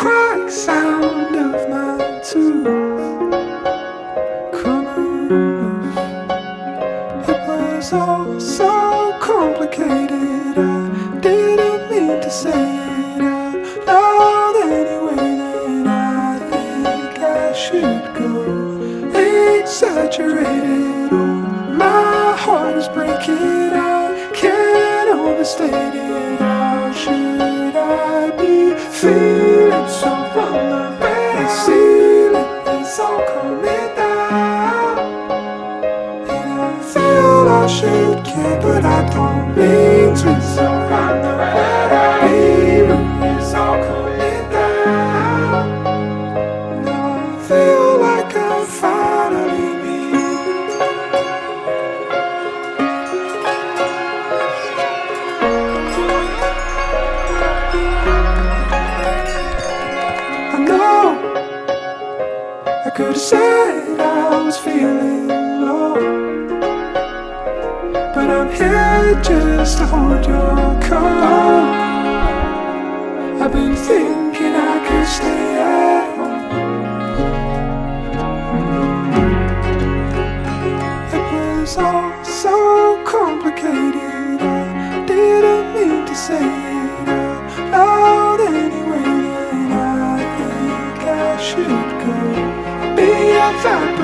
crack sound of my tooth coming loose. It was all so complicated, I didn't mean to say it out loud anyway. Then I think I should go exaggerated. Oh, my heart is breaking, I can't overstate it. How should I be feeling so vulnerable? The ceiling is all coming down, and I feel I should care, but I don't mean to. So I'm the ceiling is all coming down. Now I feel like I'm finally me. I know I could have said I was feeling low, but I'm here just to hold your coat. I've been thinking I could stay at home. It was all so complicated, I didn't mean to say it out loud anyway. Then I think I should go be a fabric.